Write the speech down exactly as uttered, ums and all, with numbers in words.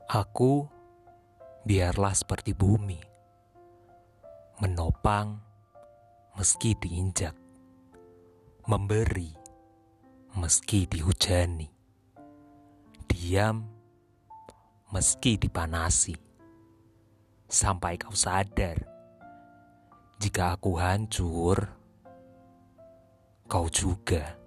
Aku biarlah seperti bumi, menopang meski diinjak, memberi meski dihujani, diam meski dipanasi, sampai kau sadar jika aku hancur, kau juga